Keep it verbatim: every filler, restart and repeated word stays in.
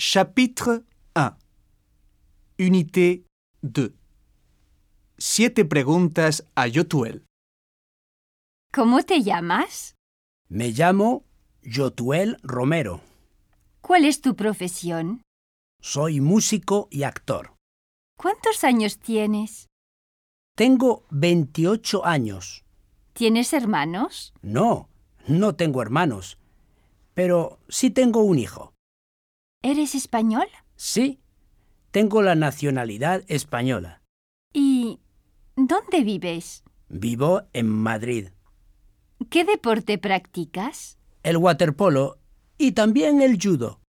Chapitre un. Unité deux. Siete preguntas a Yotuel. ¿Cómo te llamas? Me llamo Yotuel Romero. ¿Cuál es tu profesión? Soy músico y actor. ¿Cuántos años tienes? Tengo veintiocho años. ¿Tienes hermanos? No, no tengo hermanos, pero sí tengo un hijo. ¿Eres español? Sí, tengo la nacionalidad española. ¿Y dónde vives? Vivo en Madrid. ¿Qué deporte practicas? El waterpolo y también el judo.